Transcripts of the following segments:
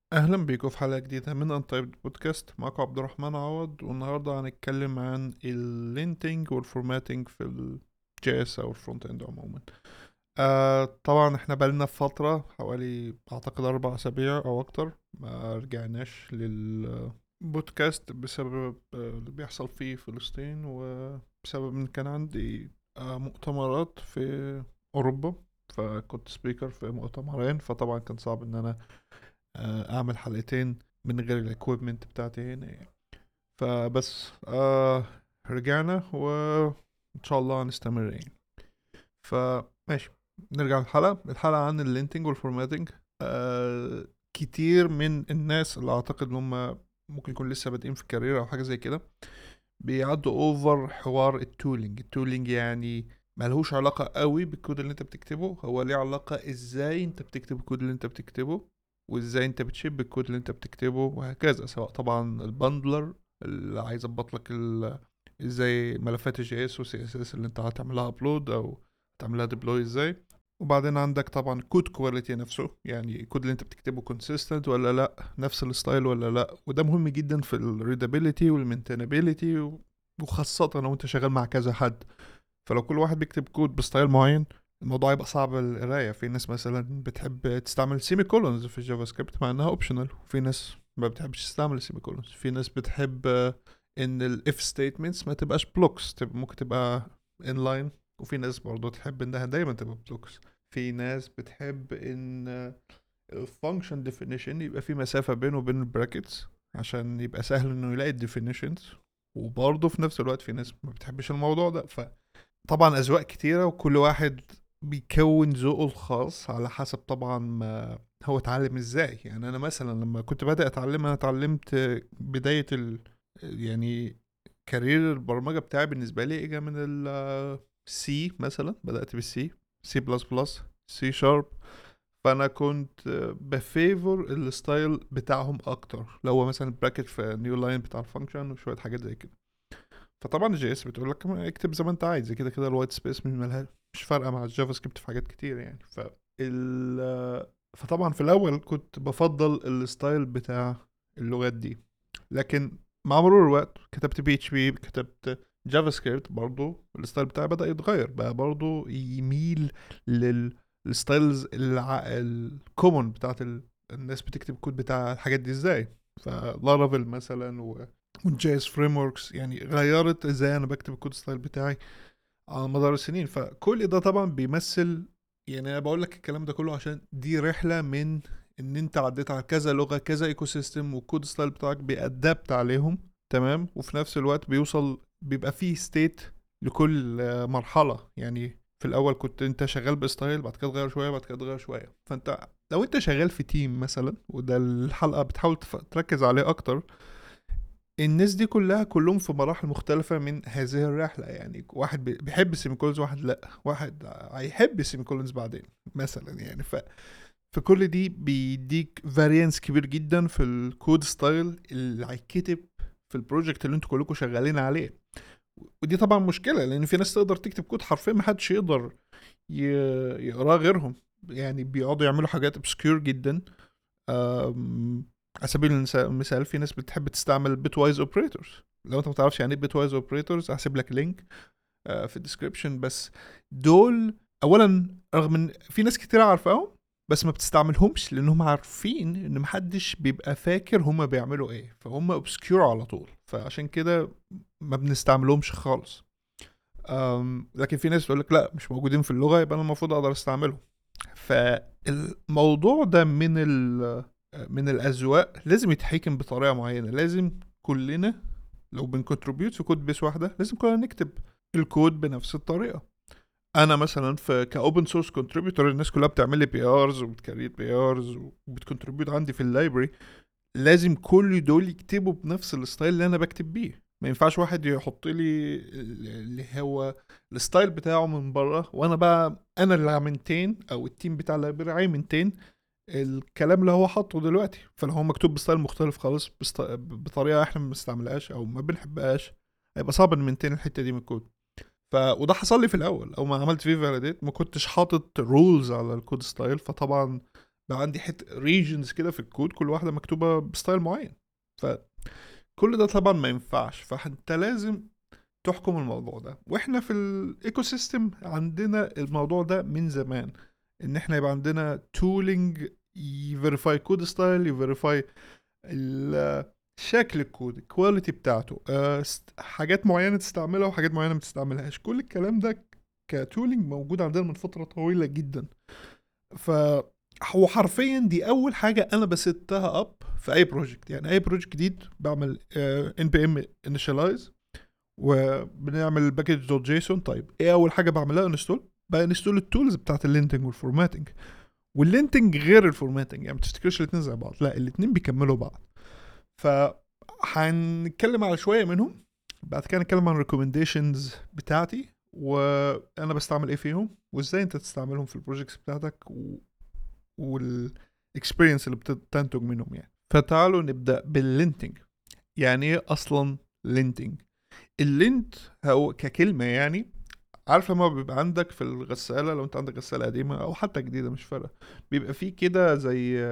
اهلا بيكم في حلقه جديده من انطيب بودكاست. معكم عبد الرحمن عوض، والنهارده هنتكلم عن اللينتنج والفورماتنج في الجي اس او الفرونت اند عموما. طبعا احنا بقالنا في فتره حوالي اعتقد 4 اسابيع او اكتر ما رجعناش للبودكاست بسبب اللي بيحصل في فلسطين، وبسبب ان كان عندي مؤتمرات في اوروبا، فكنت سبيكر في مؤتمرين، فطبعا كان صعب ان انا اعمل حلقتين من غير الاكويبمنت بتاعتي هنا يعني. فبس رجعنا وان شاء الله هنستمر يعني. فماشي، نرجع الحلقة عن اللينتنج والفورماتنج. كتير من الناس اللي اعتقد ان هم ممكن يكون لسه بادئين في الكارير او حاجة زي كده بيعدوا اوفر حوار التولينج يعني ملهوش علاقة قوي بالكود اللي انت بتكتبه، هو ليه علاقة ازاي انت بتكتب الكود اللي انت بتكتبه، وازاي انت بتشيب الكود اللي انت بتكتبه وهكذا. سواء طبعا البندلر اللي عايز يظبط لك ازاي ملفات الجي اس وسي اس اس اللي انت هتعملها ابلود او هتعملها ديبلوي ازاي. وبعدين عندك طبعا كود كواليتي نفسه، يعني الكود اللي انت بتكتبه كونسيستنت ولا لا، نفس الستايل ولا لا، وده مهم جدا في الريدابيليتي والمينتينابيليتي، وخاصة لو انت شغال مع كذا حد. فلو كل واحد بيكتب كود بستايل معين الموضوع يبقى صعب القراية. في ناس مثلا بتحب تستعمل سيمي كولونز في الجافا سكريبت مع انها اوبشنال، وفي ناس ما بتحبش تستعمل السيمي كولونز. في ناس بتحب ان الاف ستيتمنتس ما تبقاش بلوكس، ممكن تبقى انلاين. وفي ناس برضو تحب انها دايما تبقى بلوكس. في ناس بتحب ان الفانكشن ديفينيشن يبقى في مسافة بينه وبين البراكتس عشان يبقى سهل انه يلاقي الديفينيشنز. وبرضه في نفس الوقت في ناس ما بتحبش الموضوع ده. فطبعا اذواق كتيرة، وكل واحد بيكون ذوقه الخاص على حسب طبعا ما هو اتعلم ازاي. يعني انا مثلا لما كنت بادئ اتعلم، انا اتعلمت بداية يعني كارير البرمجة بتاعي بالنسبة لي اجا من السي. مثلا بدأت بالسي، سي بلس بلس، سي شارب. فانا كنت بفيفور الستايل بتاعهم اكتر، لو هو مثلا براكت في نيو لاين بتاع الفانكشن وشويه حاجات زي كده. فطبعا الجي اس بتقول لك اكتب زي ما انت عايز، كده كده الوايت سبيس مش فارقه مع الجافا سكريبت في حاجات كتير يعني. فطبعا في الاول كنت بفضل الستايل بتاع اللغات دي، لكن مع مرور الوقت كتبت بي اتش بي، كتبت جافا سكريبت، برضو الستايل بتاعي بدأ يتغير بقى، برضو يميل للستايلز الكومون بتاعت الناس بتكتب كود بتاع الحاجات دي ازاي. فلارافيل مثلا والجي اس فريم وركس يعني غيرت ازاي انا بكتب الكود ستايل بتاعي على مدار السنين. فكل ده طبعا بيمثل، يعني انا بقول لك الكلام ده كله عشان دي رحله من ان انت عديت على كذا لغه كذا ايكو سيستم، والكود ستايل بتاعك بيأدبت عليهم. تمام. وفي نفس الوقت بيبقى فيه ستيت لكل مرحله. يعني في الاول كنت انت شغال بستايل، بعد كده تغير شويه، بعد كده تغير شويه. فانت لو انت شغال في تيم مثلا، وده الحلقه بتحاول تركز عليه اكتر، الناس دي كلهم في مراحل مختلفة من هذه الرحلة. يعني واحد بيحب السيميكولونز، واحد لا، واحد هيحب السيميكولونز بعدين مثلا يعني. في كل دي بيديك فاريانس كبير جدا في الكود ستايل اللي هيتكتب في البروجكت اللي انتوا كلكم شغالين عليه. ودي طبعا مشكلة، لان في ناس تقدر تكتب كود حرفيا محدش يقدر يقراه غيرهم. يعني بيقعدوا يعملوا حاجات obscure جدا. على سبيل المثال في ناس بتحب تستعمل بيت وايز اوبريتورز. لو انت ما تعرفش يعني ايه بيت وايز اوبريتورز هسيب لك لينك في الديسكربشن. بس دول اولا، رغم ان في ناس كتير عارفاهم، بس ما بتستعملهمش لانهم عارفين ان محدش بيبقى فاكر هما بيعملوا ايه، فهم اوبسكيور على طول، فعشان كده ما بنستعملهمش خالص. لكن في ناس تقول لك لا، مش موجودين في اللغه يبقى انا المفروض اقدر استعملهم. فالموضوع ده من الأذواق لازم يتحكم بطريقة معينة. لازم كلنا لو بنكونتريبيوت في كود بيس واحدة لازم كلنا نكتب الكود بنفس الطريقة. انا مثلا في كاوبن سورس كونتريبيوتور، الناس كلها بتعمل لي بي ارز وبتكريت بي ارز وبتكونتريبيوت عندي في اللايبرري. لازم كل دول يكتبوا بنفس الستايل اللي انا بكتب بيه. ما ينفعش واحد يحط لي اللي هو الستايل بتاعه من بره، وانا بقى انا اللي عملتين او التيم بتاع اللايبرري عملتين الكلام اللي هو حاطه دلوقتي. فلو هو مكتوب بستايل مختلف خالص، بطريقه احنا ما بنستعملهاش او ما بنحبهاش، هيبقى صعب نمنتين الحته دي من الكود. وده حصل لي في الاول، او ما عملت فيه فاليديت ما كنتش حاطط رولز على الكود ستايل، فطبعا بقى عندي ريجنز كده في الكود كل واحده مكتوبه بستايل معين. فكل ده طبعا ما ينفعش، فانت لازم تحكم الموضوع ده. واحنا في الايكو سيستم عندنا الموضوع ده من زمان، ان احنا يبقى عندنا تولينج يفيريفاي كود ستايل، يفيريفاي شكل الكود، الكواليتي بتاعته، حاجات معينة تستعملها وحاجات معينة ما تستعملهاش. كل الكلام ده كتولينج موجود عندنا من فترة طويلة جدا. ف هو حرفيا دي اول حاجة انا بستها اب في اي بروجكت. يعني اي بروجكت جديد بعمل ان بي ام انيشاليز، وبنعمل باكج دوت جيسون. طيب ايه اول حاجة بعملها؟ انستول. بقى انستول التولز بتاعت اللينتنج والفورماتنج. واللينتنج غير الفورماتنج، يعني ما تفتكرش الاتنين زي بعض، لا الاتنين بيكملوا بعض. فهنتكلم على شوية منهم، بعد كده نتكلم عن الريكومنديشنز بتاعتي وانا بستعمل ايه فيهم، وازاي انت تستعملهم في البروجكتس بتاعتك والاكسبيرينس اللي بتنتج منهم يعني. فتعالوا نبدأ باللينتنج. يعني ايه اصلا لينتنج؟ اللينت هو ككلمة يعني، عارفة ما بيبقى عندك في الغسالة، لو انت عندك غسالة قديمة او حتى جديدة مش فارقة، بيبقى فيه كده زي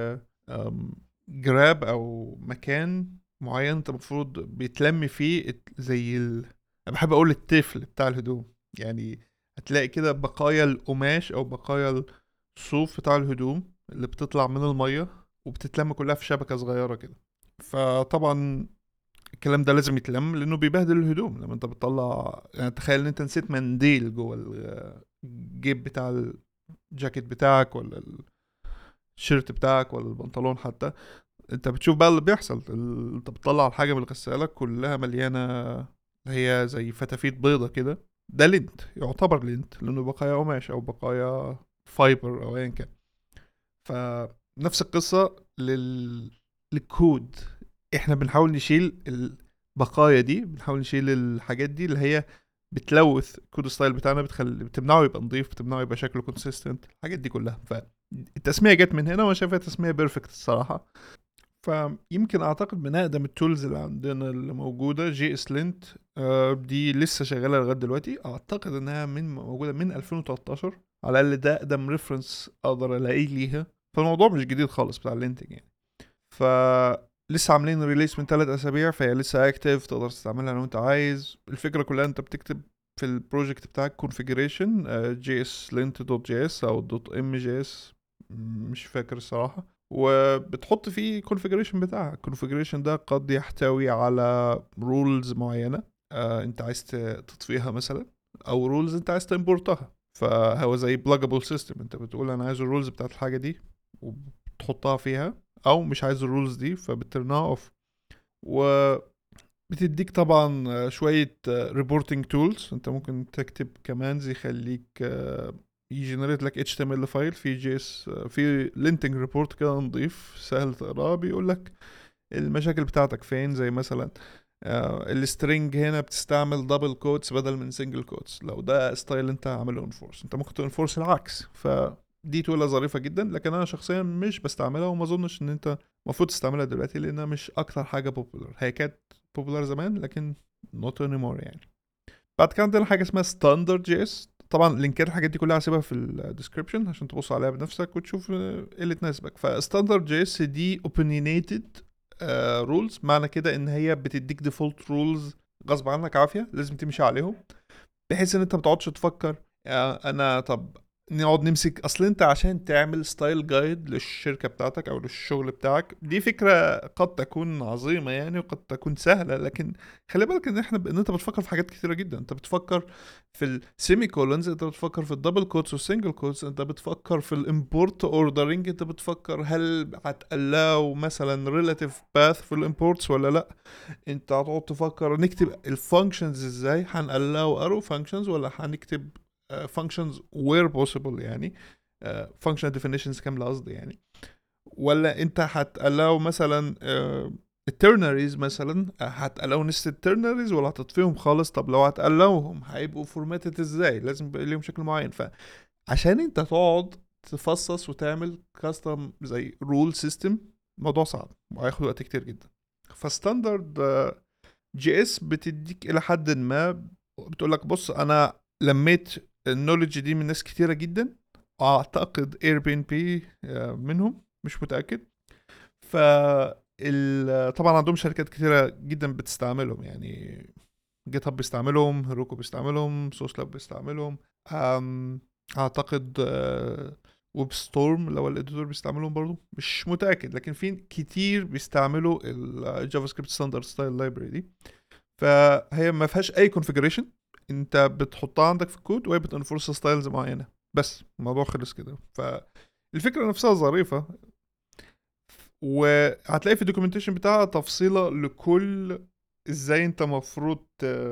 جراب او مكان معين انت المفروض بيتلم فيه انا بحب اقول التفل بتاع الهدوم. يعني هتلاقي كده بقايا القماش او بقايا الصوف بتاع الهدوم اللي بتطلع من المية وبتتلم كلها في شبكة صغيرة كده. فطبعا الكلام ده لازم يتلم لانه بيبهدل الهدوم لما انت بتطلع. يعني تخيل ان انت نسيت منديل جوه الجيب بتاع الجاكيت بتاعك ولا الشيرت بتاعك ولا البنطلون حتى، انت بتشوف بقى اللي بيحصل. انت بتطلع الحاجة من الغسالة كلها مليانة، هي زي فتافيت بيضة كده. ده لينت، يعتبر لينت لانه بقايا قماش او بقايا فايبر او ايا كان. فنفس القصة للكود. احنا بنحاول نشيل البقايا دي، بنحاول نشيل الحاجات دي اللي هي بتلوث الكود ستايل بتاعنا، بتمنعه يبقى نظيف، بتمنعه يبقى شكله كونسيستنت، الحاجات دي كلها. فالتسمية جت من هنا وانا شايفها تسمية بيرفكت الصراحة. فيمكن اعتقد من اقدم التولز اللي عندنا اللي موجودة جي اس لينت. دي لسه شغالة لغاية دلوقتي، اعتقد انها موجودة من 2013 على الاقل، ده اقدم ريفرنس اقدر الاقيه ليها. فالموضوع مش جديد خالص بتاع اللينتنج يعني. ف لسه عاملين ريليس من 3 اسابيع، فهي لسه اكتف، تقدر تستعملها لو انت عايز. الفكره كلها انت بتكتب في البروجكت بتاعك configuration jslint.js او .mjs، مش فاكر الصراحه، وبتحط فيه configuration بتاعك. الconfiguration ده قد يحتوي على rules معينه انت عايز تطفيها مثلا، او rules انت عايز تimportها. فهو زي pluggable system، انت بتقول انا عايز الرولز بتاعت الحاجه دي وبتحطها فيها، او مش عايز الرولز دي فبترنها اوف. وبتديك طبعا شوية ريبورتنج تولز. انت ممكن تكتب كمانز يخليك يجنريت لك HTML فايل في جي اس، في لينتنج ريبورت كده نضيف سهل تقراه، بيقول لك المشاكل بتاعتك فين. زي مثلا السترنج هنا بتستعمل دبل كوتس بدل من سنجل كوتس، لو ده ستايل انت عامله انفورس انت ممكن تنفورس العكس. دي تولة ظريفة جدا، لكن انا شخصيا مش بستعملها، وما اظنش ان انت المفروض تستعملها دلوقتي لانها مش اكتر حاجة بوبولار. هي كانت بوبولار زمان لكن not anymore يعني. بعد كده عندنا حاجة اسمها ستاندرد جي اس. طبعا لينكات الحاجات دي كلها هسيبها في الديسكربشن عشان تبص عليها بنفسك وتشوف ايه اللي تناسبك. فستاندرد جي اس دي opinionated رولز، معنى كده ان هي بتديك ديفولت رولز غصب عنك عافية لازم تمشي عليهم، بحيث ان انت ما تقعدش تفكر انا طب نقعد نمسك. اصل انت عشان تعمل ستايل جايد للشركة بتاعتك او للشغل بتاعك، دي فكرة قد تكون عظيمة يعني وقد تكون سهلة، لكن خلي بالك ان ان انت بتفكر في حاجات كتيرة جدا. انت بتفكر في السيمي كولونز، انت بتفكر في الدبل كوتس والسنجل كوتس، انت بتفكر في الامبورت اوردرنج، انت بتفكر هل هتقلاو مثلا ريلاتيف باث في الامبورتس ولا لا. انت هتقعد تفكر نكتب الفانكشنز ازاي، هنقلاو ارو فانكشنز ولا هنكتب فانكشنز وير بوسيبل يعني فانكشن ديفينيشنز كامله قصدي يعني، ولا انت هتقلاو مثلا الترنريز مثلا، هتقلاو نست الترنريز ولا هتطفيهم خالص. طب لو هتقلاوهم هيبقوا فورماتد ازاي، لازم يبقى ليهم شكل معين. فعشان انت تقعد تفصص وتعمل كاستم زي رول سيستم، موضوع صعب وهياخد وقت كتير جدا. فستاندرد جي اس بتديك الى حد ما، بتقول لك بص انا لميت النولج دي من ناس كتيره جدا، اعتقد اير بي ان بي منهم. مش متاكد. ف طبعا عندهم شركات كتيره جدا بتستعملهم، يعني جيت هاب بيستعملهم، هيروكو بيستعملهم، سوس لاب بيستعملهم، اعتقد ويب ستورم اللي هو الاديتور بيستعملهم برضو، مش متاكد، لكن في كتير بيستعملوا الجافا سكريبت ستاندرد ستايل لايبرري دي. فهي ما فيهاش اي كونفيجريشن، انت بتحطها عندك في الكود وهي بتنفورس ستايلز معينه، بس الموضوع خلص كده. فالفكره نفسها ظريفه، وهتلاقي في الدوكيومنتيشن بتاعها تفصيله لكل ازاي انت مفروض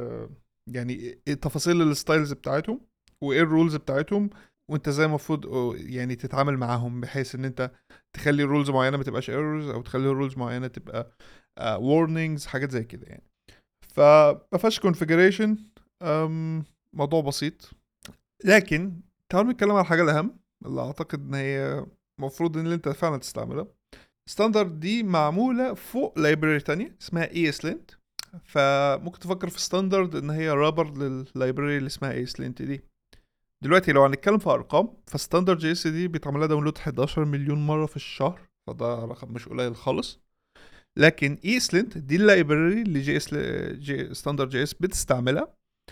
يعني إيه تفاصيل الستايلز بتاعتهم، وايه الرولز بتاعتهم، وانت ازاي المفروض يعني تتعامل معاهم، بحيث ان انت تخلي رولز معينه ما تبقاش ايرورز، او تخلي رولز معينه تبقى warnings، حاجات زي كده يعني. فما فيهاش كونفيجريشن، موضوع بسيط. لكن تعالوا نتكلم على الحاجه الاهم اللي اعتقد ان هي المفروض ان انت فعلا تستعملها. ستاندرد دي معموله فوق لايبراري تانية اسمها ESLint. فممكن تفكر في ستاندرد ان هي رابر لللايبراري اللي اسمها ESLint دي. دلوقتي لو هنتكلم في ارقام، فستاندرد جي اس دي بيتعمل لها داونلود 11 مليون مره في الشهر، فده رقم مش قليل خالص. لكن ESLint دي اللايبراري اللي جي ستاندرد جي اس بتستعملها،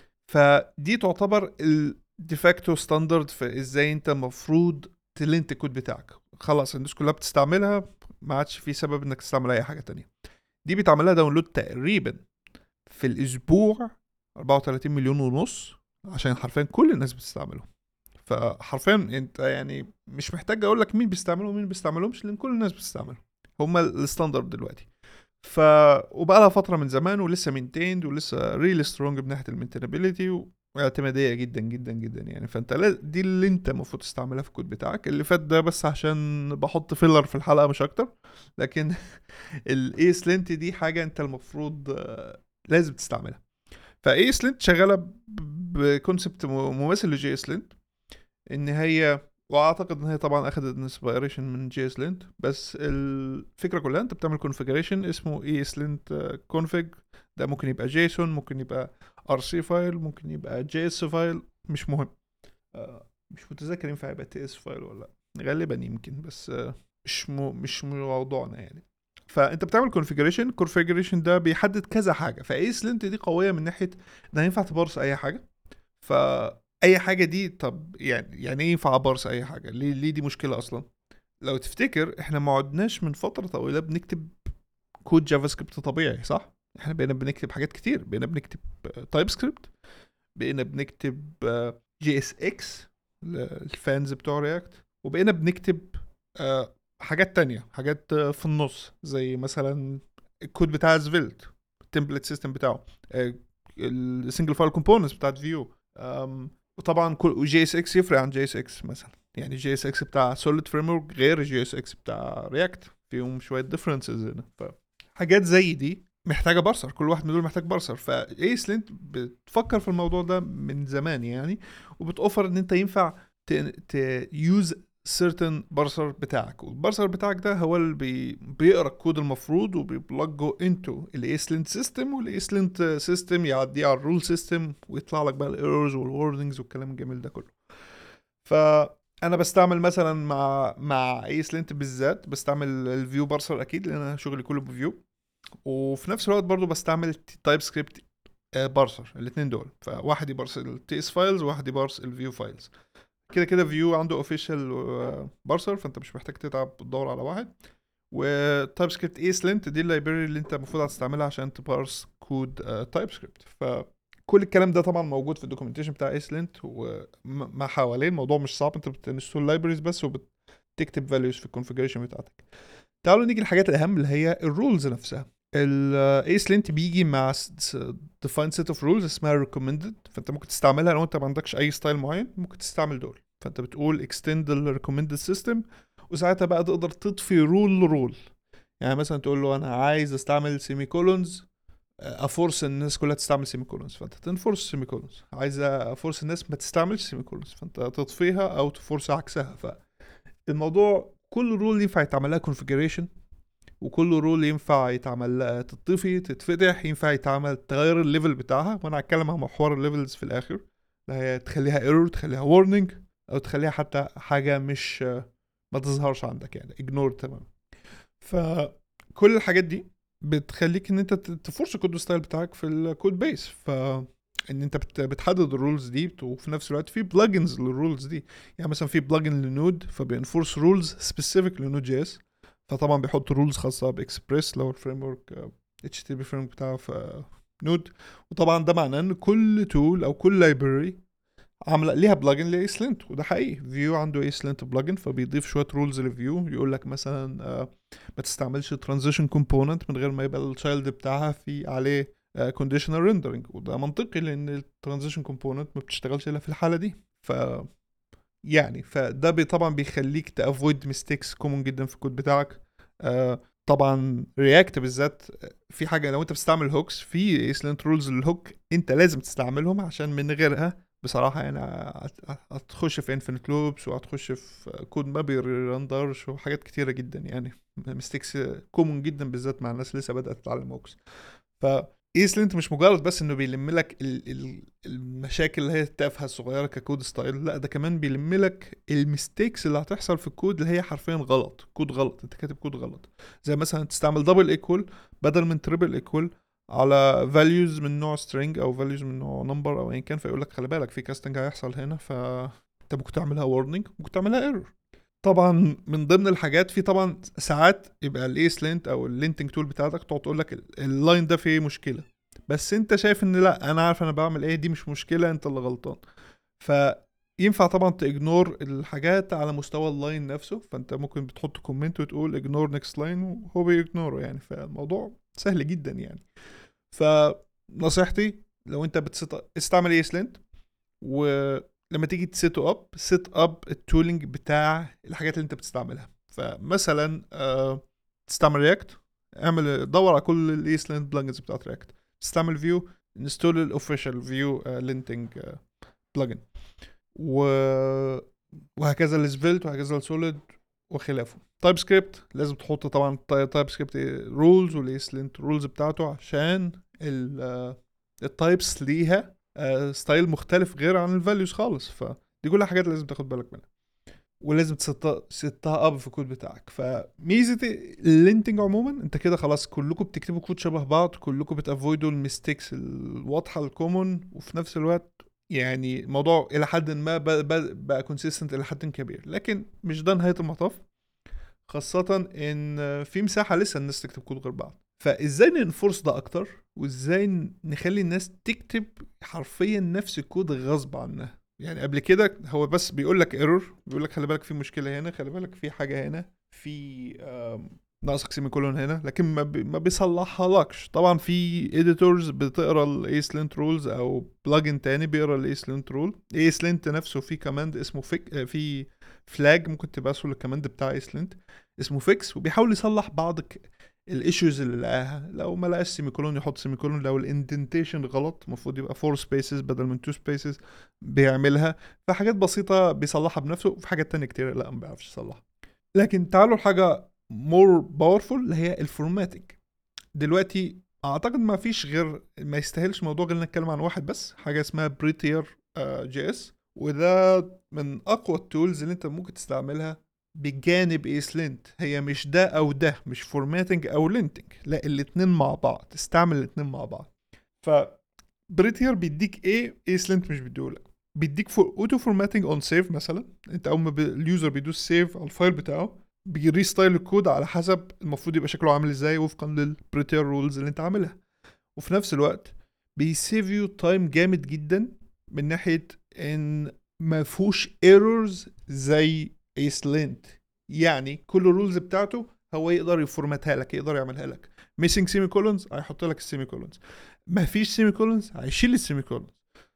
فدي تعتبر الديفاكتو ستاندرد في ازاي انت المفروض تلينت الكود بتاعك. خلاص الناس كلها بتستعملها، ما عادش في سبب انك تستعمل اي حاجه تانية. دي بيتعمل لها داونلود تقريبا في الاسبوع 34 مليون ونص، عشان حرفيا كل الناس بتستعمله. فحرفيا انت يعني مش محتاج اقول لك مين بيستعمله ومين بيستعملهمش، لان كل الناس بتستعمله. هما الستاندرد دلوقتي. ف وبقى لها فتره من زمان، ولسه مينتيند، ولسه ريل سترونج من ناحيه المينتينابيلتي، واعتماديه جدا جدا جدا يعني. فانت دي اللي انت المفروض تستعملها في الكود بتاعك. اللي فات ده بس عشان بحط فيلر في الحلقه مش اكتر، لكن الاي سلنت دي حاجه انت المفروض لازم تستعملها. فاي سلنت شغاله بكونسبت مماثل لجي اس لينت، ان هي، واعتقد ان هي طبعا اخذت انسبيريشن من جي اس لينت، بس الفكره كلها انت بتعمل كونفيجريشن اسمه اي اس لينت كونفيج. ده ممكن يبقى جيسون، ممكن يبقى ار سي فايل، ممكن يبقى جي اس فايل، مش مهم. مش متذكر ينفع يبقى تي اس فايل ولا لا، غالبا يمكن، بس مش موضوعنا يعني. فانت بتعمل كونفيجريشن ده بيحدد كذا حاجه. فاي سلنت دي قويه من ناحيه انها ينفع تبارس اي حاجه. فاي حاجه دي، طب يعني ايه ينفع ابارس اي حاجه؟ ليه دي مشكله اصلا؟ لو تفتكر احنا ما عدناش من فتره طويله بنكتب كود جافا سكريبت طبيعي، صح؟ احنا بقينا بنكتب حاجات كتير، بقينا بنكتب تايب سكريبت، بقينا بنكتب جي اس اكس الفانز بتوع رياكت، وبقينا بنكتب حاجات تانية، حاجات في النص، زي مثلا الكود بتاع سفيلت، التمبلت سيستم بتاعه، السنجل فايل كومبوننتس بتاعت فيو. وطبعا كل جي اس اكس يفرق عن جي اس اكس مثلا، يعني جي اس اكس بتاع سوليد فريم ورك غير جي اس اكس بتاع رياكت، فيهم شويه ديفرنسز هنا. فحاجات زي دي محتاجه بارسر، كل واحد من دول محتاج بارسر. فايس لينت بتفكر في الموضوع ده من زمان يعني، وبتوفر ان انت ينفع تيوز certain بارسر بتاعك، والبارسر بتاعك ده هو اللي بيقرا الكود المفروض وبيبلجه انتو الايسلنت سيستم، والايسلنت سيستم يعديه على الرول سيستم، ويطلع لك بقى الايرورز والوردنجز والكلام الجميل ده كله. فانا بستعمل مثلا مع ايسلنت بالذات بستعمل الفيو بارسر اكيد، لان انا شغلي كله بفيو. وفي نفس الوقت برضو بستعمل تايب سكريبت بارسر، الاثنين دول. فواحد يبارس التي اس فايلز، وواحد يبارس الفيو فايلز. كده كده فيو عنده اوفيشال بارسر، فانت مش محتاج تتعب تدور على واحد. وتايب سكريبت ايسلنت دي اللايبراري اللي انت المفروض هتستعملها عشان تبارس كود تايب سكريبت. فكل الكلام ده طبعا موجود في الدوكيومنتيشن بتاع ايسلنت، وما حواليه الموضوع مش صعب، انت بتنستول لايبراريز بس، وبتكتب فاليوز في الكونفيجريشن بتاعتك. تعالوا نيجي للحاجات الاهم اللي هي الرولز نفسها. الايسلنت بيجي مع defined set of rules اسمها recommended، فانت ممكن تستعملها لو انت ما عندكش اي ستايل معين، ممكن تستعمل دول. فانت بتقول extend the recommended system، وساعتها بقى تقدر تضفي رول. يعني مثلا تقول له انا عايز استعمل سيمي كولونز، افورس الناس كلها تستعمل سيمي كولونز، فانت تنفورس سيمي كولونز. عايز افورس الناس ما تستعملش سيمي كولونز، فانت تضفيها او تفورس عكسها. فالموضوع كل رول ينفع يتعمل لها configuration، وكل رول ينفع يتعمل تطفي تتفتح، ينفع يتعمل تغير الليفل بتاعها. وانا هتكلم عن محور الليفلز في الاخر، اللي هي تخليها ايرور، تخليها warning، او تخليها حتى حاجه مش ما تظهرش عندك يعني اجنور تمام. فكل الحاجات دي بتخليك ان انت تفورس الكود ستايل بتاعك في الكود بيس. ان انت بتحدد الرولز دي، وفي نفس الوقت في بلجنز للرولز دي. يعني مثلا في بلجن لنود فبينفورس رولز سبيسيفيك لنود جي اس، فطبعا بيحط رولز خاصه باكسبريس لو الفريم ورك اتش تي بي فريم بتاعه في نود. وطبعا ده معناه ان كل تول او كل لايبرري عامله ليها بلجن لايسلنت، وده حقيقي. فيو عنده ايسلنت بلجن فبيضيف شويه رولز لفيو، يقول لك مثلا ما تستعملش ترانزيشن كومبوننت من غير ما يبقى التشايلد بتاعها في عليه كونديشنال ريندرنج، وده منطقي لان الترانزيشن كومبوننت ما بتشتغلش الا في الحاله دي. ف يعني فده طبعا بيخليك تافويد ميستيكس كومون جدا في الكود بتاعك. طبعا رياكت بالذات في حاجه، لو انت بتستعمل هوكس في ايسلنت رولز للهوك انت لازم تستعملهم، عشان من غيرها بصراحه يعني هتخش في انفينيت لوبس وهتخش في كود ما بيرندرش وحاجات كتيره جدا يعني. ميستيكس كومون جدا بالذات مع الناس اللي لسه بدات تتعلم هوكس. ف ايسلنت مش مجرد بس انه بيلم لك المشاكل اللي هي التافهه الصغيره ككود ستايل، لا ده كمان بيلم لك الميستيكس اللي هتحصل في الكود اللي هي حرفيا غلط، كود غلط، انت كاتب كود غلط. زي مثلا تستعمل دبل ايكوال بدل من تريبل ايكوال على values من نوع string او values من نوع number او ايا كان، فيقول لك خلي بالك في كاستنج هيحصل هنا، فانت ممكن تعملها warning ممكن تعملها error. طبعا من ضمن الحاجات في طبعا ساعات يبقى الايس لينت او اللينتنج تول بتاعتك تقعد تقول لك اللاين ده فيه مشكله، بس انت شايف ان لا انا عارف انا بعمل ايه، دي مش مشكله انت اللي غلطان. فينفع طبعا تاجنور الحاجات على مستوى اللاين نفسه، فانت ممكن بتحط كومنت وتقول اجنور نيكست لاين وهو بيجنوره يعني. فالموضوع سهل جدا يعني. فنصيحتي لو انت استعمل ايس لينت، ولما تيجي سيت اب التولينج بتاع الحاجات اللي انت بتستعملها. فمثلا تستعمل رياكت، اعمل دور على كل الايسلند بلجنز بتاعت رياكت. تستعمل فيو، انستول الاوفيشال فيو لينتنج بلجن، وهكذا السفيلت وهكذا السوليد وخلافه. تايب سكريبت لازم تحط طبعا تايب سكريبت رولز والايسلنت رولز بتاعته، عشان التايبس ليها ستايل مختلف غير عن الفاليوز خالص. فدي كلها حاجات لازم تاخد بالك منها، ولازم تستها اب في الكود بتاعك. فميزه اللينتنج عموما انت كده خلاص كلكم بتكتبوا كود شبه بعض، كلكم بتافويدوا الميستيكس الواضحه الكومون، وفي نفس الوقت يعني الموضوع الى حد ما بقى كونسيستنت الى حد كبير، لكن مش ده نهايه المطاف. خاصة ان في مساحة لسه الناس تكتب كود غير بعض. فازاي ننفورس ده اكتر، وازاي نخلي الناس تكتب حرفيا نفس الكود غصب عنها. يعني قبل كده هو بس بيقول لك ايرور، بيقول لك خلي بالك في مشكلة هنا، خلي بالك في حاجة هنا، في ناقصك سيمي كولون هنا، لكن ما بيصلحها لكش. طبعا في اديتورز بتقرا الايسلنت رولز، او بلجن تاني بيقرا الايسلنت رول. ايسلنت نفسه في كماند اسمه في فلاج ممكن تبعثه للكماند بتاع ايسلنت اسمه فيكس، وبيحاول يصلح بعض الايشوز اللي لقاها. لو ما لقاش سيمي كولون يحط سيمي كولون، لو الاندنتيشن غلط المفروض يبقى 4 سبيسز بدل من 2 سبيسز بيعملها. فحاجات بسيطة بيصلحها بنفسه، وفي حاجات تانية كتير لا ما بيعرفش يصلحها. لكن تعالوا لحاجة مور باورفول اللي هي الفورماتنج. دلوقتي اعتقد ما فيش غير ما يستاهلش موضوع غير نتكلم عن واحد بس، حاجة اسمها بريتير جي اس، وده من اقوى التولز اللي انت ممكن تستعملها بجانب ايسلنت. هي مش ده او ده، مش فورماتنج او لينتنج، لا الاتنين مع بعض، استعمل الاتنين مع بعض. ف بريتير بيديك ايه ايسلنت مش بيديهولك؟ بيديك اوتو فورماتنج اون سيف. مثلا انت اول ما اليوزر بيدوس سيف على الفايل بتاعه بيريستايل الكود على حسب المفروض يبقى شكله عامل ازاي وفقا للبريتير رولز اللي انت عاملها. وفي نفس الوقت بيسيف يو تايم جامد جدا، من ناحيه ان ما فيهوش ايرورز زي ايسلنت. يعني كل الرولز بتاعته هو يقدر يفورماتها لك، يقدر يعملها لك. ميسنج سيمي كولونز هيحط لك السيمي كولونز، ما فيش سيمي كولونز هيشيل السيمي كولونز.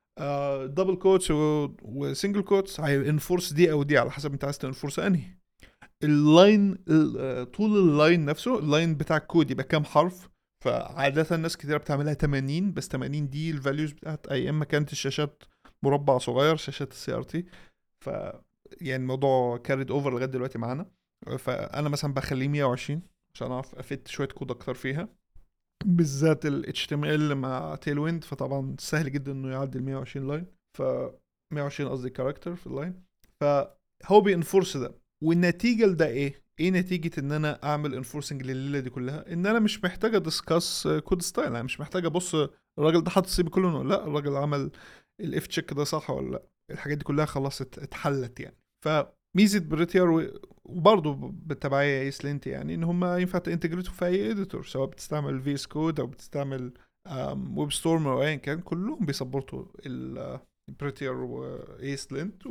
دبل كوتس وسنجل كوتس هينفورس دي او دي على حسب انت عايز تنفورس انهي. اللاين طول اللاين نفسه، اللاين بتاع الكود يبقى كام حرف. فعادة الناس كتير بتعملها 80، بس 80 دي الفاليوز بتاعت ايام ما كانت الشاشات مربع صغير، شاشات السي ار تي. ف يعني الموضوع كاريد اوفر لغايه دلوقتي معانا. فانا مثلا بخليه 120 عشان اعرف افت شويه كود اكتر فيها، بالذات ال HTML مع تيل ويند. فطبعا سهل جدا انه يعدي ال 120 لاين، ف 120 قصدي كاركتر في اللاين. فهو بينفورس ده. والنتيجه لده ايه نتيجه ان انا اعمل انفورسنج لليله دي كلها؟ ان انا مش محتاج ادسكاس كود ستايل، انا مش محتاج ابص الراجل ده حاطط سيمي كولون ولا لا، الراجل عمل الاف تشيك ده صح ولا لا، الحاجات دي كلها خلاص اتحلت يعني. فميزه بريتير وبرضه بالتبعيه ايسلنت يعني ان هم ينفع تنتجريتوا في اي اديتور، سواء بتستعمل في اس كود او بتستعمل ويب ستورم او ايا كان، كلهم بيسبورتوا بريتير وايسلنت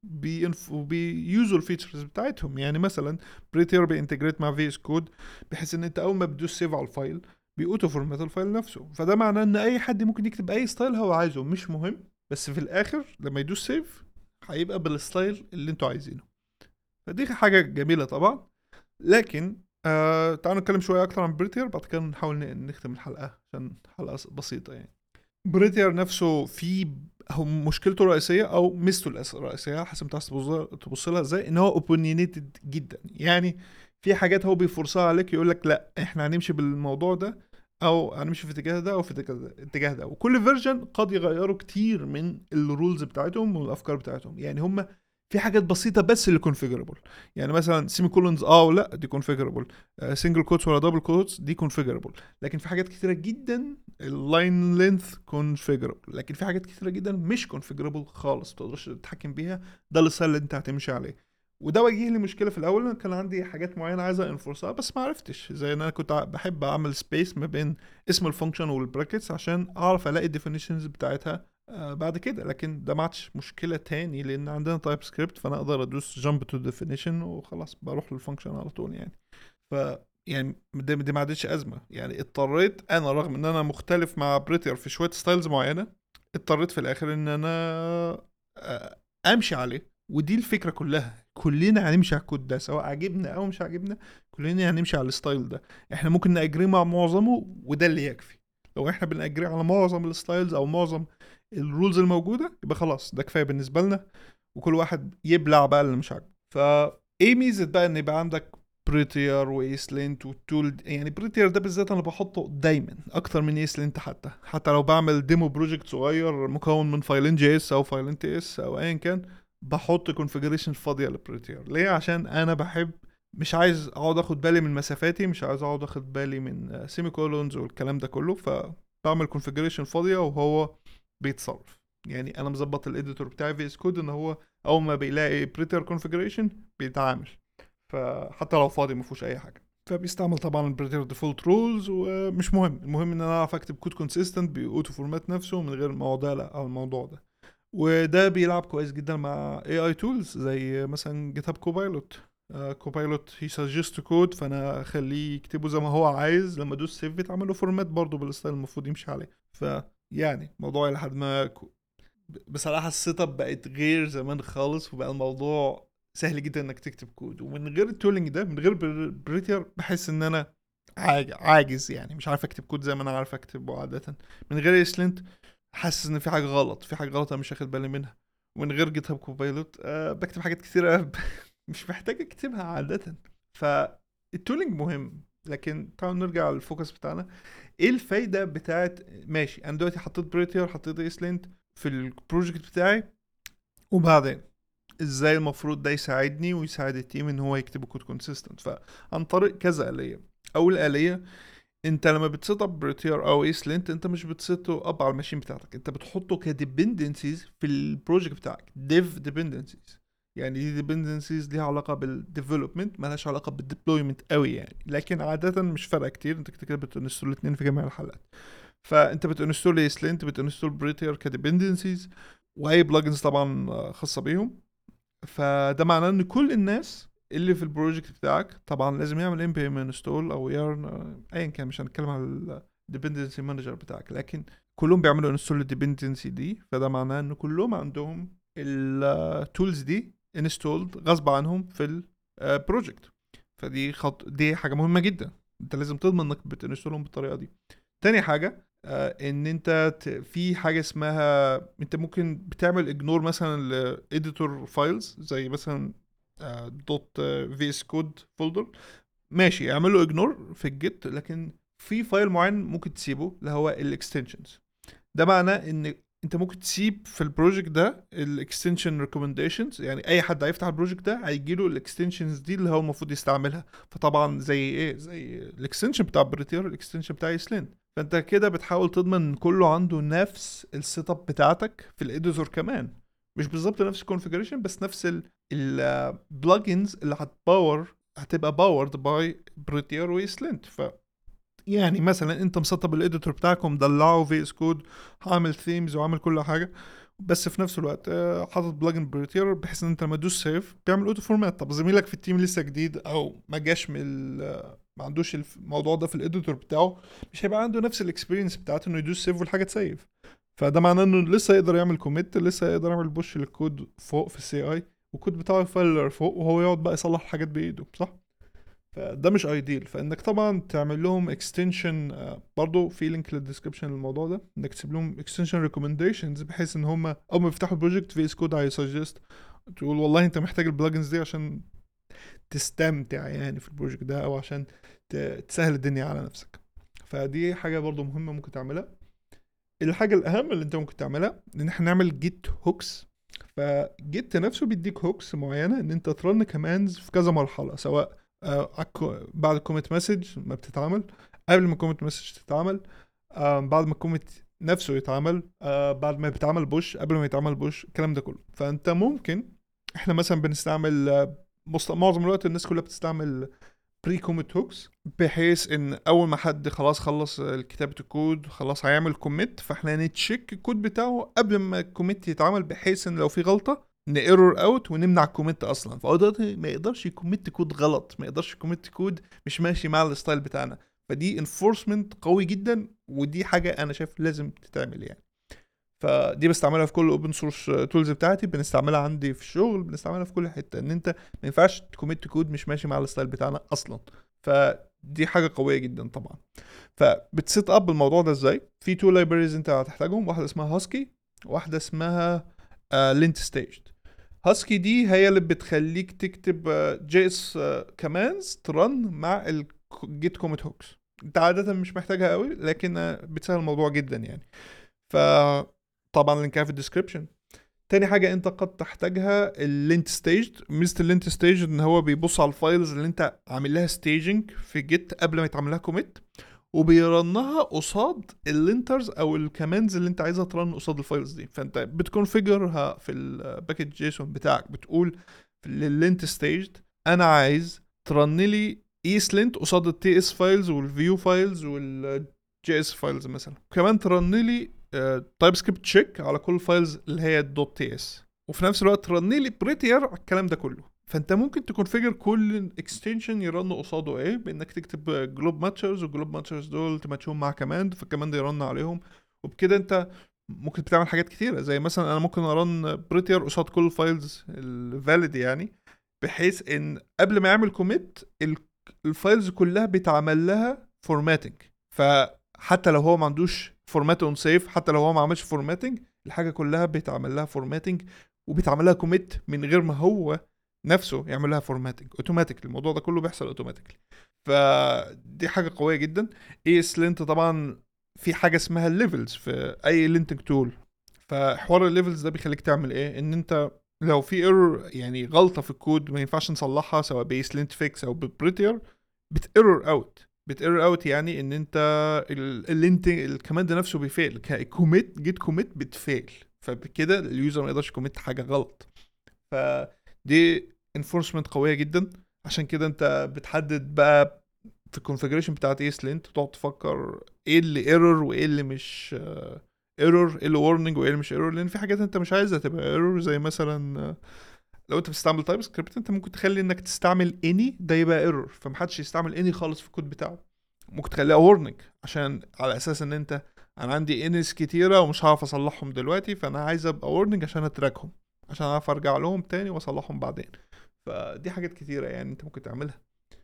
وبيوزوا الفيتشرز بتاعتهم. يعني مثلا بريتير بينتجريت مع في اس كود بحيث ان انت اول ما بتدوس سيف على الفايل بيأوتو فورمات الفايل نفسه، فده معناه ان اي حد ممكن يكتب اي ستايل هو عايزه، مش مهم، بس في الاخر لما يدوس سيف هيبقى بالستايل اللي انتوا عايزينه. فدي حاجة جميلة طبعا. لكن تعالوا نتكلم شوية أكتر عن بريتير، بعد كده نحاول نختم الحلقة عشان حلقة بسيطة يعني. بريتير نفسه في هو مشكلته الرئيسية أو ميزته الرئيسية حسب ما تبص لها ازاي، إن هو اوبونينيتد جدا. يعني في حاجات هو بيفرصها عليك، يقول لك لا احنا هنمشي بالموضوع ده، او هنمشي في الاتجاه ده او في الاتجاه ده، وكل فيرجن قد يغيروا كتير من الرولز بتاعتهم والافكار بتاعتهم. يعني هم في حاجات بسيطه بس اللي كونفيجربل، يعني مثلا سيمي كولونز ولا دي كونفيجربل، سنجل كوتس ولا دبل كوتس دي كونفيجربل. لكن في حاجات كتيره جدا اللاين لينث كونفيجربل، لكن في حاجات كتيره جدا مش كونفيجربل خالص، ما تقدرش تتحكم بيها، ده الستايل اللي انت هتمشي عليه. وده واجه لي مشكله في الاول، انا كان عندي حاجات معينه عايزه انفورسها بس ما عرفتش، زي ان انا كنت بحب اعمل سبيس ما بين اسم الفانكشن والبراكتس عشان اعرف الاقي الديفينيشنز بتاعتها بعد كده. لكن ده ما عادش مشكله تاني لان عندنا تايب سكريبت، فانا اقدر ادوس جامب تو ديفينيشن وخلاص بروح للفانكشن على طول يعني. ف يعني دي ما عادتش ازمه يعني. اضطريت انا رغم ان انا مختلف مع بريتير في شويه ستايلز معينه، اضطريت في الاخر ان انا امشي عليه. ودي الفكره كلها، كلنا هنمشي على الكود ده سواء عجبنا او مش عجبنا، كلنا هنمشي على الستايل ده. احنا ممكن ناجري مع معظمه وده اللي يكفي. لو احنا بنأجري على معظم الستايلز او معظم الرولز الموجوده يبقى خلاص ده كفايه بالنسبه لنا، وكل واحد يبلع بقى اللي مش عاجبه. فايه ميزه بقى ان يبقى عندك بريتير وايسلنت والتول؟ يعني بريتير ده بالذات انا بحطه دايما اكتر من ايسلنت، حتى لو بعمل ديمو بروجكت صغير مكون من فايلين جي اس او فايلين تي اس او ايا كان، بحط كونفيجريشن فاضيه للبريتير. ليه؟ عشان انا بحب، مش عايز اقعد اخد بالي من مسافاتي، مش عايز اقعد اخد بالي من سيمي كولونز والكلام ده كله، فبعمل كونفيجريشن فاضيه وهو بيتصرف. يعني انا مظبط الاديتور بتاعي في اس كود ان هو اول ما بيلاقي بريتير كونفيجريشن بيتعامل، فحتى لو فاضي ما فيهوش اي حاجه. فبيستعمل طبعا البريتير ديفولت رولز، ومش مهم، المهم ان انا اعرف اكتب كود كونسيستنت باوتو فورمات نفسه من غير الموضوع ده او الموضوع ده. وده بيلعب كويس جدا مع اي اي تولز زي مثلا جيت هاب كوبايلوت. كوبايلوت هي سجست كود، فانا اخليه يكتبه زي ما هو عايز، لما ادوس سيف بيتعمل له فورمات برضه بالستايل المفروض يمشي عليه. فيعني موضوع لحد ما بصراحة السيت اب بقت غير زمان خالص، وبقى الموضوع سهل جدا انك تكتب كود. ومن غير التولينج ده، من غير بريتير، بحس ان انا عاجز يعني، مش عارف اكتب كود زي ما انا عارف اكتبه عادة. من غير ايسلنت حاسس ان في حاجة غلط، في حاجة غلط انا مش واخد بالي منها. ومن غير جيت هاب كوبايلوت بكتب حاجات كتيرة مش محتاج اكتبها عادة. فالتولينج مهم، لكن تعالوا نرجع للفوكس بتاعنا. ايه الفايدة بتاعت، ماشي انا دلوقتي حطيت بريتير، حطيت ايسلنت في البروجكت بتاعي، وبعدين ازاي المفروض ده يساعدني ويساعد التيم ان هو يكتب كود كونسيستنت؟ فعن طريق كذا آلية. اول آلية، انت لما بتسيت اب بريتير او ايسلنت انت مش بتسيته اب على الماشين بتاعتك، انت بتحطه كديبندنسيز في البروجكت بتاعك، ديف ديبندنسيز. يعني دي ديبندنسيز ليها علاقه بالديفلوبمنت، مالهاش علاقه بالديبلويمنت قوي يعني، لكن عاده مش فارقه كتير، انت كده كده بتنستول الاثنين في جميع الحالات. فانت بتنستول ايسلنت، بتنستول بريتير كديبندنسيز، واي بلجنز طبعا خاصه بيهم. فده معناه ان كل الناس اللي في البروجكت بتاعك طبعا لازم يعمل ام بي ام انستول او يارن ايا كان، مش هنتكلم على الديبندنسي مانجر بتاعك، لكن كلهم بيعملوا انستول للديبندنسي دي. فده معناه ان كلهم عندهم التولز دي انستولد غصب عنهم في البروجكت. فدي دي حاجه مهمه جدا، انت لازم تضمن انك بتنستولهم بالطريقه دي. تاني حاجه ان انت في حاجه اسمها، انت ممكن بتعمل اجنور مثلا لاديتور فايلز زي مثلا دوت في اس كود فولدر، ماشي اعمل له اجنور في الجيت، لكن في فايل معين ممكن تسيبه اللي هو الاكستنشنز. ده معناه ان انت ممكن تسيب في البروجكت ده الاكستنشن ريكومنديشنز، يعني اي حد هيفتح البروجكت ده هيجيله الاكستنشنز دي اللي هو المفروض يستعملها. فطبعا زي ايه، زي الاكستنشن بتاع بريتير، الاكستنشن بتاع يسلين. فانت كده بتحاول تضمن ان كله عنده نفس السيت اب بتاعتك في الاديتور كمان، مش بالظبط نفس الكونفيجريشن بس نفس البلجنز اللي هتبقى باورد باي بريتير ويسلنت. يعني مثلا انت مسطب الاديتور بتاعكم دلعه في اس كود، عامل ثيمز وعامل كل حاجه، بس في نفس الوقت حاطط بلجن بريتير بحيث ان انت لما تدوس سيف بيعمل اوتو فورمات. طب زميلك في التيم لسه جديد او ما جاش من ما عندوش الموضوع ده في الاديتور بتاعه، مش هيبقى عنده نفس الاكسبيرينس بتاعته انه يدوس سيف والحاجه تسيف. فده معناه انه لسه يقدر يعمل كوميت، لسه يقدر يعمل بوش للكود فوق في السي اي، والكود بتاعه يفلر فوق وهو يقعد بقى يصلح الحاجات بايده، صح؟ فده مش ايديل. فانك طبعا تعمل لهم اكستنشن، برضو في لينك للديسكربشن للموضوع ده، انك تسيب لهم اكستنشن ريكومنديشنز بحيث ان هم اول ما يفتحوا البروجكت في اس كود هيسجست، تقول والله انت محتاج البلجنز دي عشان تستمتع يعني في البروجكت ده، او عشان تسهل الدنيا على نفسك. فدي حاجه برضو مهمه ممكن تعملها. الحاجه الاهم اللي انت ممكن تعملها ان احنا نعمل جيت هوكس. فجيت نفسه بيديك هوكس معينه ان انت ترن كماندز في كذا مرحله، سواء بعد الكوميت مسج ما بتتعمل، قبل ما الكوميت مسج تتعمل، بعد ما الكوميت نفسه يتعمل، بعد ما بيتعمل بوش، قبل ما يتعمل بوش، الكلام ده كله. فانت ممكن، احنا مثلا بنستعمل معظم الوقت الناس كلها بتستعمل بري كوميت هوكس، بحيث ان اول ما حد خلاص خلص كتابة الكود خلاص هيعمل كوميت، فاحنا نتشيك الكود بتاعه قبل ما الكوميت يتعمل، بحيث ان لو في غلطة نيرور اوت ونمنع الكوميت اصلا. فهو دلوقتي ما يقدرش يكوميت كود غلط، ما يقدرش يكوميت كود مش ماشي مع الستايل بتاعنا. فدي انفورسمنت قوي جدا، ودي حاجة انا شايف لازم تتعمل يعني. فدي بستعملها في كل الاوبن سورس تولز بتاعتي، بنستعملها عندي في الشغل، بنستعملها في كل حته، ان انت ما ينفعش تكوميت كود مش ماشي مع الستايل بتاعنا اصلا. فدي حاجه قويه جدا طبعا. فبتسيت اب الموضوع ده ازاي؟ في تو لايبريز انت هتحتاجهم، واحده اسمها هاسكي، واحده اسمها لينت ستيجد. هاسكي دي هي اللي بتخليك تكتب جي اس كمانز ترن مع الجيت كوميت هوكس. انت عاده مش محتاجها قوي، لكن بتسهل الموضوع جدا يعني. فطبعا لينكها في الديسكربشن. تاني حاجة انت قد تحتاجها اللينت ستيج. ميزة اللينت ستيج ان هو بيبص على الفايلز اللي انت عامل لها ستيجنج في جيت قبل ما يتعمل لها كوميت، وبيرنها قصاد اللينترز او الكماندز اللي انت عايزها ترن قصاد الفايلز دي. فانت بتكونفيجرها في الباكج جيسون بتاعك، بتقول لللينت ستيج انا عايز ترن لي ايس لينت قصاد التي اس فايلز والفيو فايلز والجي اس فايلز مثلا، كمان ترن لي تايب سكريبت تشيك على كل الفايلز اللي هي دوت تي اس، وفي نفس الوقت ترن لي بريتير على الكلام ده كله. فانت ممكن تكونفيجر كل اكستنشن يرن قصاده ايه، بانك تكتب جلوب ماتشرز، والجلوب ماتشرز دول تماتشهم مع كماند، فالكماند يرن عليهم. وبكده انت ممكن تعمل حاجات كتيرة، زي مثلا انا ممكن ارن بريتير قصاد كل الفايلز الفاليد يعني، بحيث ان قبل ما يعمل كوميت الفايلز كلها بيتعمل لها فورماتنج. فحتى لو هو ما عندوش فورمات اون سيف، حتى لو هو ما عملش فورماتنج، الحاجه كلها بيتعمل لها فورماتنج، وبيتعمل لها كوميت من غير ما هو نفسه يعمل لها فورماتنج اوتوماتيك. الموضوع ده كله بيحصل اوتوماتيكلي. فدي حاجه قويه جدا. اي اس لينت طبعا في حاجه اسمها الليفلز في اي لينتنج تول. فحوار الليفلز ده بيخليك تعمل ايه، ان انت لو في ايرور يعني غلطه في الكود ما ينفعش نصلحها سواء بايس لينت فيكس او ببريتير، بتيرور اوت. بتيرور اوت يعني ان انت اللينت الكماند نفسه بيفيل، كوميت جيت كوميت بتفيل، فبكده اليوزر ما يقدرش كوميت حاجه غلط. فدي انفورسمنت قويه جدا. عشان كده انت بتحدد بقى في الكونفيجريشن بتاعت ايس لينت، تقعد تفكر ايه اللي ايرور وايه اللي مش ايرور، ايه اللي وارنينج وايه اللي مش ايرور، لان في حاجات انت مش عايزها تبقى ايرور. زي مثلا لو انت بتستعمل تايب سكريبت، انت ممكن تخلي انك تستعمل اني ده يبقى ايرور، فمحدش يستعمل اني خالص في الكود بتاعه. ممكن تخليها وارنينج عشان على اساس ان انت انا عندي انيس كتيره ومش هعرف اصلحهم دلوقتي، فانا عايز ابقى وارنينج عشان اتراكهم، عشان اعرف ارجع لهم تاني واصلحهم بعدين. فدي حاجات كتيره يعني انت ممكن تعملها.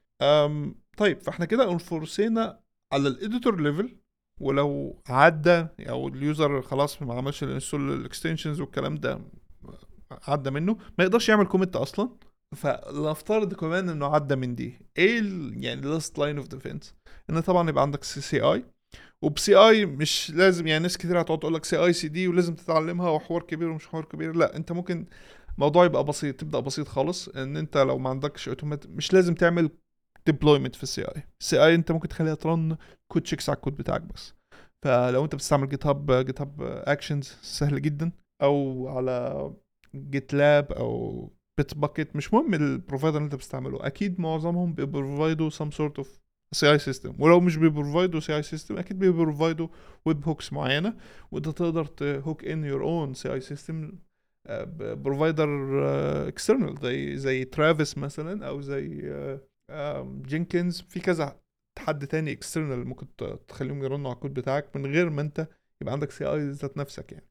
طيب فاحنا كده انفورسينا على الاديتور ليفل، ولو عدى او اليوزر خلاص ما عملش الانستول الاكستنشنز والكلام ده، عدى منه ما يقدرش يعمل كوميت اصلا. فنفترض كمان انه عدى من دي، ايه يعني last line of defense، ان طبعا يبقى عندك CCI. وبسي اي مش لازم، يعني ناس كتير هتقعد تقول لك سي اي سي دي ولازم تتعلمها وحوار كبير ومش حوار كبير. لا، انت ممكن الموضوع يبقى بسيط، تبدا بسيط خالص. ان انت لو ما عندكش اوتومات مش لازم تعمل ديبلويمنت في السي اي انت ممكن تخليها ترن كود تشيكس على الكود بتاعك بس. فلو انت بتستعمل جيت هاب اكشنز سهل جدا، او على جيت لاب او بيت باكيت، مش مهم البروفايدر اللي انت بتستعمله، اكيد معظمهم بيبروفايدوا some sort of سي اي سيستم. ولو مش بيبروفايدوا سي اي سيستم اكيد بيبروفايدوا ويب هوكس معينه، وانت تقدر تهوك ان يور اون سي اي سيستم بروفايدر اكسترنال زي ترافيس مثلا، او زي جينكنز. في كذا حد تاني اكسترنال ممكن تخليهم يرنوا على الكود بتاعك من غير ما انت يبقى عندك سي اي ذات نفسك يعني.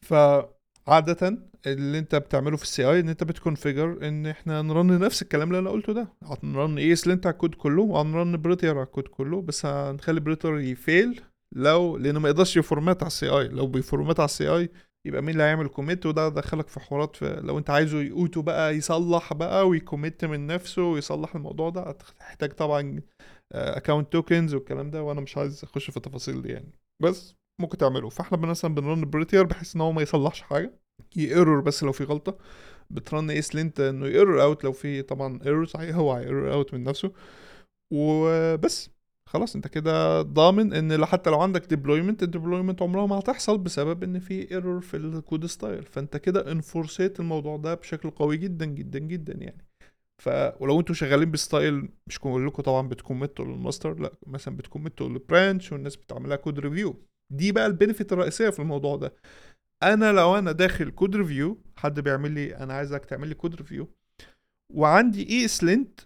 فعادة اللي انت بتعمله في السي اي ان انت بتكونفيجر ان احنا نرن نفس الكلام اللي انا قلته ده، هنرن اي اس لينت على الكود كله وهنرن بريتير على الكود كله، بس هنخلي بريتير يفيل لانه ما يقدرش يفورمات على السي اي. لو بيفورمات على السي اي يبقى مين اللي هيعمل كوميت، وده دخلك في حوارات. لو انت عايزه يقوته بقى يصلح بقى ويكوميت من نفسه ويصلح الموضوع ده، هتحتاج طبعا اكونت توكنز والكلام ده، وانا مش عايز اخش في التفاصيل دي يعني. بس ممكن تعمله. فاحنا مثلا بنرن بريتير بحيث ان هو ما يصلحش حاجه، ييرور بس لو في غلطه. بترن ايس لينت انه ييرور اوت لو في طبعا ايرور صحيح، هو هييرور اوت من نفسه وبس. خلاص انت كده ضامن ان حتى لو عندك الديبلويمنت عمرها ما هتحصل بسبب ان في ايرور في الكود ستايل. فانت كده انفورسيت الموضوع ده بشكل قوي جدا جدا جدا يعني. ولو انتوا شغالين بستايل مش كلكم طبعا بتكمتوا للماستر، لا مثلا بتكمتوا للبرانش والناس بتعملها كود ريفيو. دي بقى البينفيت الرئيسيه في الموضوع ده. لو انا داخل كود ريفيو، حد بيعمل لي انا عايزك تعمل لي كود ريفيو، وعندي اي اس لينت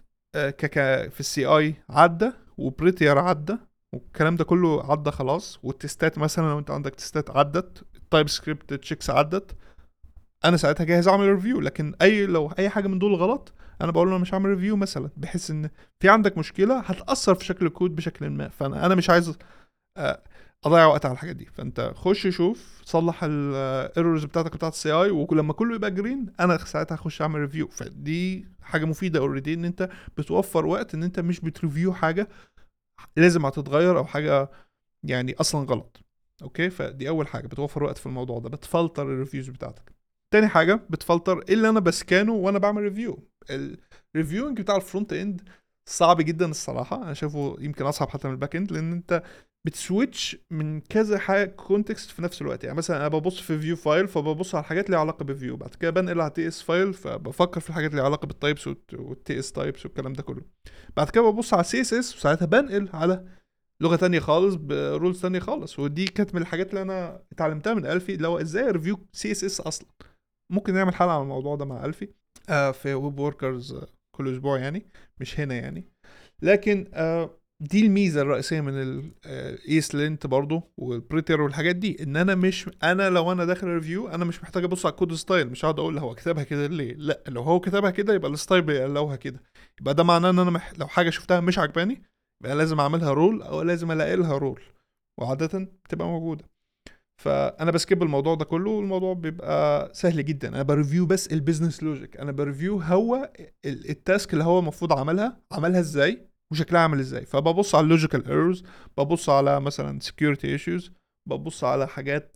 في السي اي عدى وبريتير عدى والكلام ده كله عدى خلاص، والتستات مثلا لو انت عندك تستات عدت، التايب سكريبت تشيكس عدت، انا ساعتها جاهز اعمل ريفيو. لكن لو اي حاجه من دول غلط انا بقول له انا مش هعمل ريفيو مثلا، بحيث ان في عندك مشكله هتاثر في شكل الكود بشكل ما. فانا مش عايز آه، اضيع وقت على الحاجات دي. فانت خش شوف صلح الايرورز بتاعتك بتاعت السي اي، ولما كله يبقى جرين انا ساعتها هخش اعمل ريفيو. فدي حاجه مفيده اوريدي، ان انت بتوفر وقت، ان انت مش بتريفيو حاجه لازم هتتغير او حاجه يعني اصلا غلط. اوكي، فدي اول حاجه بتوفر وقت في الموضوع ده، بتفلتر الريفيوز بتاعتك. تاني حاجه بتفلتر ايه اللي انا بسكانه وانا بعمل ريفيو. الريفيوينج بتاع الفرونت اند صعب جدا الصراحه، انا شايفه يمكن اصعب حتى من الباك اند، لان انت بتسويتش من كذا حاجه كونتكست في نفس الوقت. يعني مثلا انا ببص في فيو فايل فببص على الحاجات اللي علاقه بفيو، بعد كده بنقل على تي اس فايل فبفكر في الحاجات اللي علاقه بالتايبس والتي اس تايبس والكلام ده كله. بعد كده ببص على سي اس اس وساعتها بنقل على لغه تانية خالص برولز تانية خالص. ودي كانت من الحاجات اللي انا اتعلمتها من الفي، اللي هو ازاي ريفيو سي اس اس اصلا. ممكن نعمل حلقه على الموضوع ده مع الفي في ويب وركرز كل اسبوع يعني، مش هنا يعني. لكن دي الميزه الرئيسيه من الايس لينت برضو والبريتر والحاجات دي، ان انا مش لو انا داخل ريفيو انا مش محتاج ابص على الكود ستايل، مش هقعد اقول هو كتبها كده ليه. لا، لو هو كتبها كده يبقى الستايل بيقلوها كده، يبقى ده معناه ان انا لو حاجه شفتها مش عجباني يبقى لازم اعملها رول او لازم الاقي لها رول، وعاده بتبقى موجوده. فانا بسكيب الموضوع ده كله، والموضوع بيبقى سهل جدا. انا بريفيو بس البيزنس لوجيك، انا بريفيو هو التاسك اللي هو المفروض عملها ازاي وشكلها عامل ازاي. فببص على اللوجيكال ايرورز، ببص على مثلا security issues، ببص على حاجات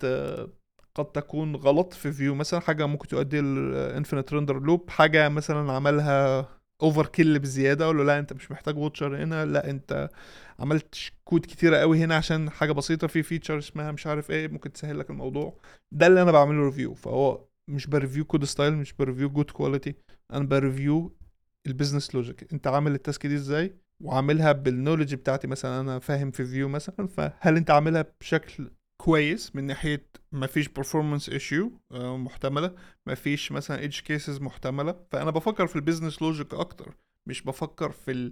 قد تكون غلط في فيو، مثلا حاجه ممكن تؤدي لانفينيت ريندر لوب، حاجه مثلا عملها اوفر كيل بزياده، اقول له لا انت مش محتاج ووتشر هنا، لا انت عملت كود كتيره قوي هنا عشان حاجه بسيطه في فيتشر اسمها مش عارف ايه ممكن تسهل لك الموضوع. ده اللي انا بعمله ريفيو. فهو مش بريفيو كود ستايل، مش بريفيو جود كواليتي، انا بريفيو البيزنس لوجيك. انت عامل التاسك دي ازاي وعاملها بالنولج بتاعتي، مثلا انا فاهم في فيو مثلا، فهل انت عاملها بشكل كويس من ناحيه ما فيش performance issue محتمله، ما فيش مثلا edge cases محتمله. فانا بفكر في البيزنس لوجيك اكتر، مش بفكر في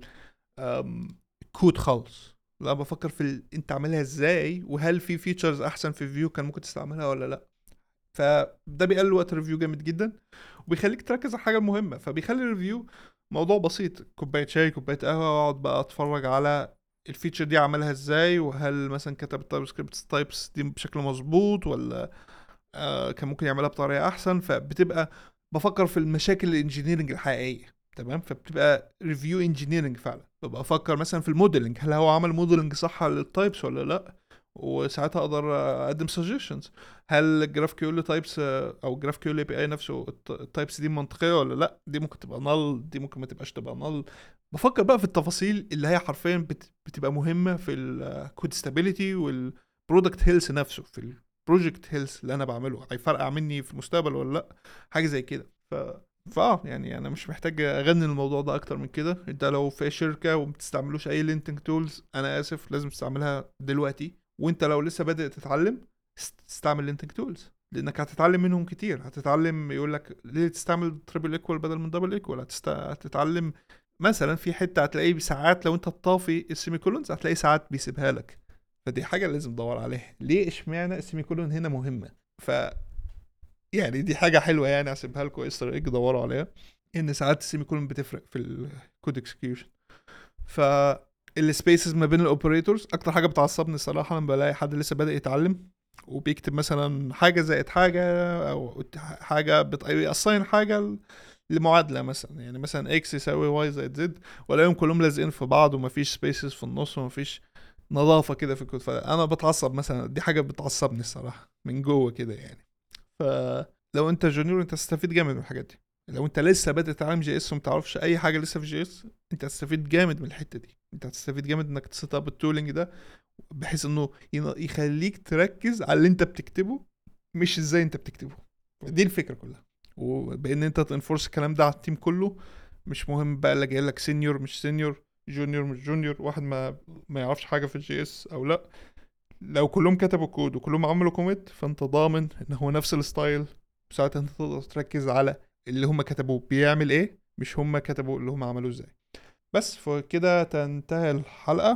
الكود خالص. لا، بفكر في انت عاملها ازاي، وهل في فيتشرز احسن في فيو كان ممكن تستعملها ولا لا. فده بيقلل وقت الريفيو جامد جدا، وبيخليك تركز على الحاجه المهمه. فبيخلي الريفيو موضوع بسيط، كوبايه شاي كوبايه قهوه، واقعد بقى اتفرج على الفيتشر دي عملها ازاي، وهل مثلا كتب التايب سكريبت تايبس دي بشكل مظبوط ولا كان ممكن يعملها بطريقه احسن. فبتبقى بفكر في المشاكل الانجينيرنج الحقيقيه. تمام، فبتبقى ريفيو انجينيرنج فعلا. ببقى افكر مثلا في الموديلنج، هل هو عمل موديلنج صح للتايبس ولا لا، وساعتها اقدر اقدم suggestions. هل جراف كيو ال تايبس او جراف كيو ال بي اي نفسه التايبس دي منطقيه ولا لا؟ دي ممكن تبقى null، دي ممكن ما تبقاش تبقى null. بفكر بقى في التفاصيل اللي هي حرفيا بتبقى مهمه في الكود ستابيليتي والبرودكت هيلث نفسه، في البروجكت هيلث اللي انا بعمله هيفرقع مني في المستقبل ولا لا، حاجه زي كده. يعني انا مش محتاج اغني الموضوع ده اكتر من كده. انت لو في شركه وما بتستعملوش اي لينتنج تولز، انا اسف، لازم تستعملها دلوقتي. وانت لو لسه بادئ تتعلم، استعمل لينتنج تولز، لانك هتتعلم منهم كتير. هتتعلم يقول لك ليه تستعمل تريبل ايكوال بدل من دبل ايكوال. هتتعلم مثلا في حته هتلاقيه ساعات لو انت طافي السيمي كولونز هتلاقي ساعات بيسيبها لك. فدي حاجه لازم تدور عليها، ليه اشمعنى السيمي كولون هنا مهمه. ف يعني دي حاجه حلوه يعني، هسيبها لكم استر ايج دوروا عليها، ان ساعات السيمي كولون بتفرق في الكود اكسكيوشن. ف السبيسز ما بين الاوبريتورز اكتر حاجه بتعصبني الصراحه لما بلاقي حد لسه بادئ يتعلم وبيكتب مثلا حاجه زائد حاجه، او حاجه بيأساين حاجه لمعادله مثلا، يعني مثلا اكس يساوي واي زائد زد، ولاقيهم كلهم لازقين في بعض ومفيش سبيسز في النص ومفيش نظافه كده في الكود. فانا بتعصب مثلا، دي حاجه بتعصبني الصراحه من جوه كده يعني. فلو انت جونيور انت هتستفيد جامد من الحاجات دي. لو انت لسه بادئ تتعلم جي اس ومتعرفش اي حاجه لسه في جي اس، انت هتستفيد جامد من الحته دي. انت هتستفيد جامد انك تسيت اب التولينج ده، بحيث انه يخليك تركز على اللي انت بتكتبه، مش ازاي انت بتكتبه. دي الفكره كلها. وبان انت تنفورس الكلام ده على التيم كله. مش مهم بقى اللي جاي لك سينيور مش سينيور، جونيور مش جونيور، واحد ما يعرفش حاجه في الجي اس او لا. لو كلهم كتبوا كود وكلهم عملوا كوميت، فانت ضامن ان هو نفس الستايل. ساعتها انت تقدر تركز على اللي هم كتبوه بيعمل ايه، مش هم كتبوا اللي هم عملوه ازاي. بس فكده تنتهي الحلقة.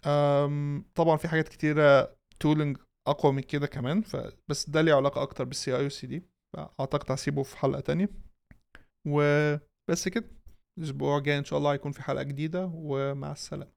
طبعا في حاجات كتيرة تولنج اقوى من كده كمان، بس ده ليه علاقة اكتر بالسي اي والسي دي، فاعتقد هسيبه في حلقة تانية. وبس كده، الاسبوع الجاي ان شاء الله هيكون في حلقة جديدة، ومع السلامة.